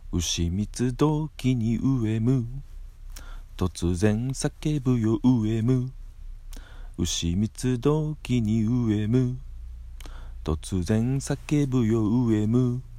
牛蜜時に飢えむ突然叫ぶよ飢えむ牛蜜時に飢えむ突然叫ぶよ飢えむ